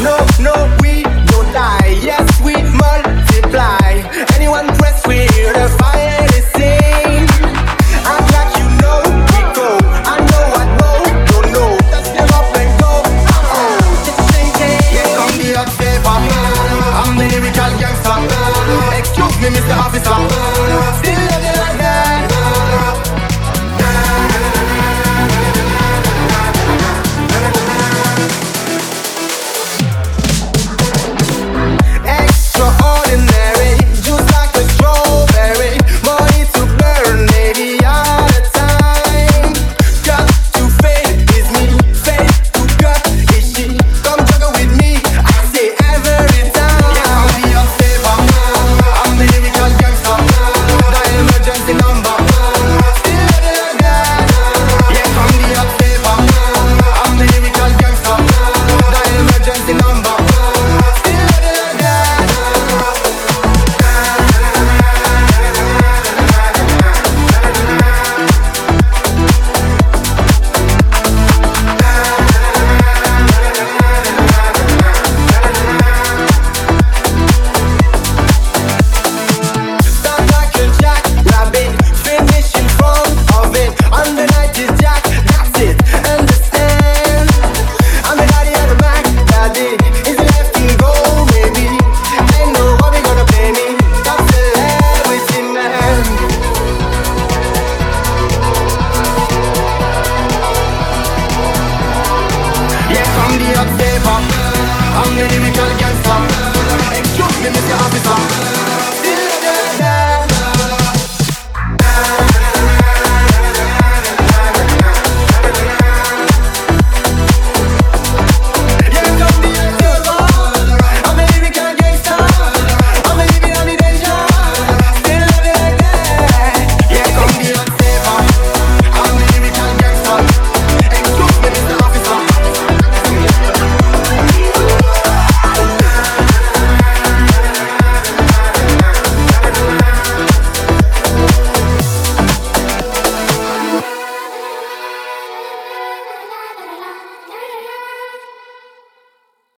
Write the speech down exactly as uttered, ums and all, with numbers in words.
No, no, we don't die. Yes, we multiply. Anyone press we hear the fire they sing. Act like you know we go. I know I know, don't know. Just give up and go. Oh, just thinking. Here come the hot flavor. I'm the lyrical gangster. Excuse me, Mister Officer.